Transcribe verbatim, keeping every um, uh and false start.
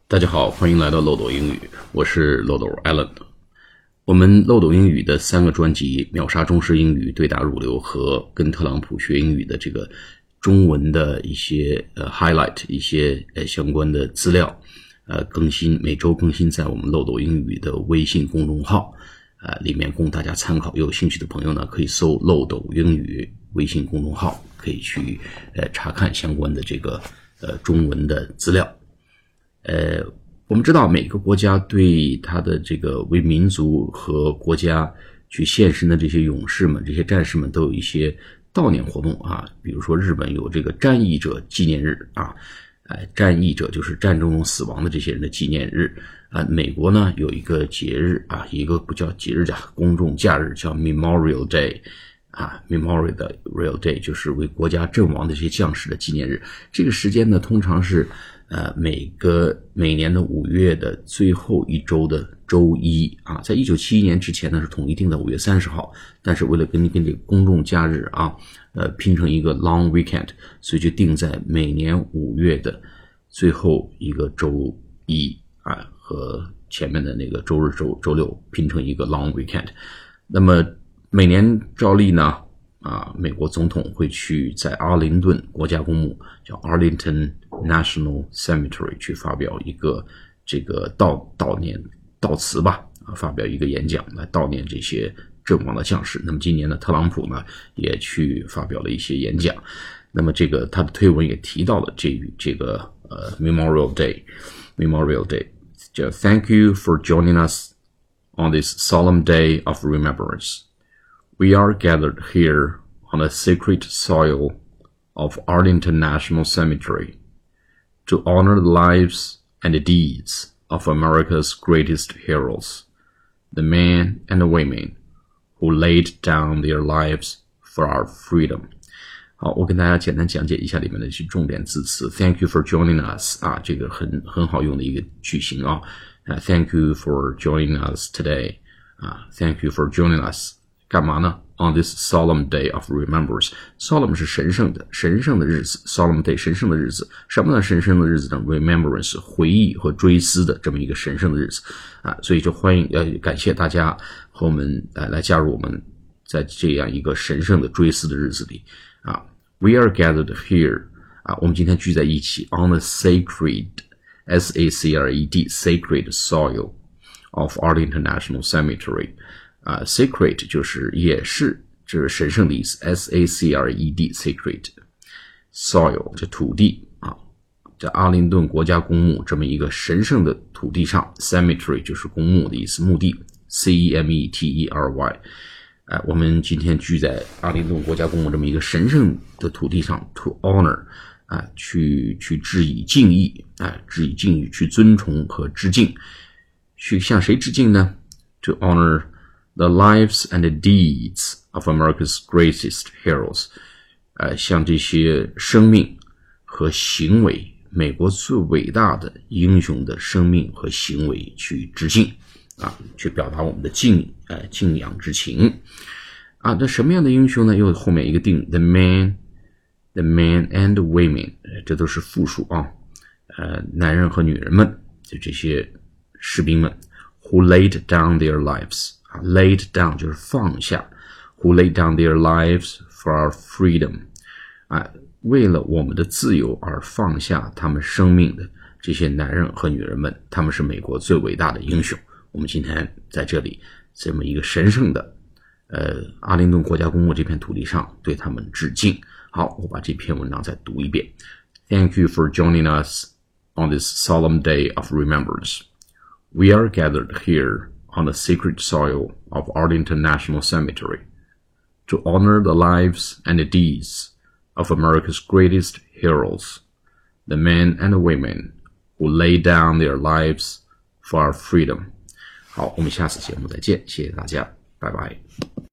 大家好，欢迎来到漏斗英语，我是漏斗 Alan。我们漏斗英语的三个专辑秒杀中式英语、对答如流和跟特朗普学英语的这个中文的一些呃 highlight 一些呃相关的资料呃更新，每周更新在我们漏斗英语的微信公众号呃里面供大家参考。有兴趣的朋友呢，可以搜漏斗英语微信公众号，可以去呃查看相关的这个呃中文的资料。呃，我们知道每个国家对他的这个为民族和国家去献身的这些勇士们、这些战士们都有一些悼念活动啊，比如说日本有这个战役者纪念日啊，呃，战役者就是战争中死亡的这些人的纪念日啊。美国呢有一个节日啊，一个不叫节日叫公众假日，叫 Memorial Day。啊 ，Memorial Day 就是为国家阵亡的这些将士的纪念日。这个时间呢，通常是呃每个每年的五月的最后一周的周一啊。在一九七一年之前呢，是统一定在五月三十号，但是为了跟跟这个公众假日啊，呃拼成一个 long weekend， 所以就定在每年五月的最后一个周一啊，和前面的那个周日、周周六拼成一个 long weekend。那么每年照例呢，啊，美国总统会去在阿灵顿国家公墓，叫 Arlington National Cemetery 去发表一个这个悼悼念悼词吧，啊，发表一个演讲来悼念这些阵亡的将士。那么今年呢，特朗普呢也去发表了一些演讲。那么这个他的推文也提到了这这个呃 Memorial Day Memorial Day， 叫 Thank you for joining us on this solemn day of remembrance.We are gathered here on the sacred soil of Arlington National Cemetery to honor the lives and the deeds of America's greatest heroes, the men and the women who laid down their lives for our freedom. 好，我跟大家简单讲解一下里面的一些重点字词。Thank you for joining us 啊，这个很很好用的一个句型啊。Uh, thank you for joining us today. 啊 ，Thank you for joining us.干嘛呢 ？On this solemn day of remembrance， solemn 是神圣的，神圣的日子 ，solemn day 神圣的日子，什么呢？神圣的日子呢 ？remembrance 回忆和追思的这么一个神圣的日子啊，所以就欢迎呃感谢大家和我们呃来加入我们在这样一个神圣的追思的日子里啊。We are gathered here 啊，我们今天聚在一起 on the sacred S A C R E D sacred soil of Arlington National Cemetery。啊 ，sacred 就是也是就是神圣的意思 ，S A C R E D sacred soil 这土地啊，在阿灵顿国家公墓这么一个神圣的土地上 ，cemetery 就是公墓的意思，墓地 C E M E T E R Y， 哎、呃，我们今天聚在阿灵顿国家公墓这么一个神圣的土地上 ，to honor 啊、呃，去去致以敬意啊、呃，致以敬意，去尊崇和致敬，去向谁致敬呢 ？To honor。The lives and the deeds of America's greatest heroes， 呃，向这些生命和行为，美国最伟大的英雄的生命和行为去致敬，啊，去表达我们的敬，呃，敬仰之情，啊，那什么样的英雄呢？又后面一个定 ，the men，the men and women， 这都是复数啊，呃，男人和女人们，就这些士兵们 ，who laid down their lives。laid down 就是放下 who laid down their lives for our freedom 啊，为了我们的自由而放下他们生命的这些男人和女人们，他们是美国最伟大的英雄。我们今天在这里这么一个神圣的呃阿灵顿国家公墓这片土地上对他们致敬。好，我把这篇文章再读一遍。Thank you for joining us on this solemn day of remembrance. We are gathered here.On the sacred soil of Arlington National Cemetery to honor the lives and the deeds of America's greatest heroes, the men and the women who lay down their lives for our freedom. 好，我们下次节目再见，谢谢大家，拜拜。